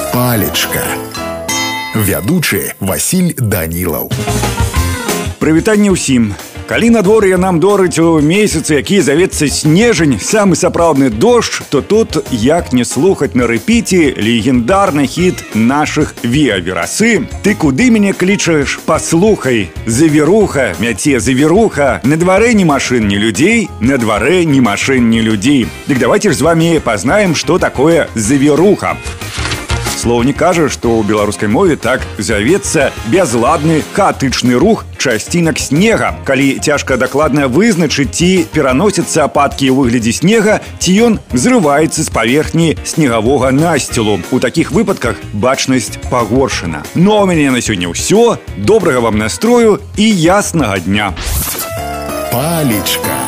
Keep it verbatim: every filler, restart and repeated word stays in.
Палечка. Вядучы Васіль Данілаў. Прывітанне ўсім. Калі надвор'е нам дорыць у месяцы, які завецца снежань, самы сапраўдны дождж, то тут як не слухаць на рэпіце легендарны хіт нашых Віа-Верасы. Ты куды мяне клічаш? Паслухай, завіруха, мяце завіруха. На дварэ ні машын, ні людзей, на дварэ ні машын, ні людзей. Дык давайте ж з вами пазнаем, што такое завіруха. Слоўнік кажа, што ў беларускай мове так завецца бязладны хаатычны рух часцінак снега. Калі цяжка дакладна вызначыць, ці пераносяцца ападкі ў выглядзе снега, ці ён зрываецца з паверхні снегавога насцілу. У такіх выпадках бачнасць пагоршана. Ну а ў мяне на сёння ўсё. Добрага вам настрою і яснага дня. Палечка.